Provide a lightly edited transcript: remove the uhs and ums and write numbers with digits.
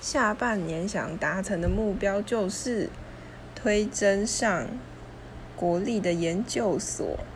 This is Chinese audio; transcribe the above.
下半年想达成的目标就是推甄上国立的研究所。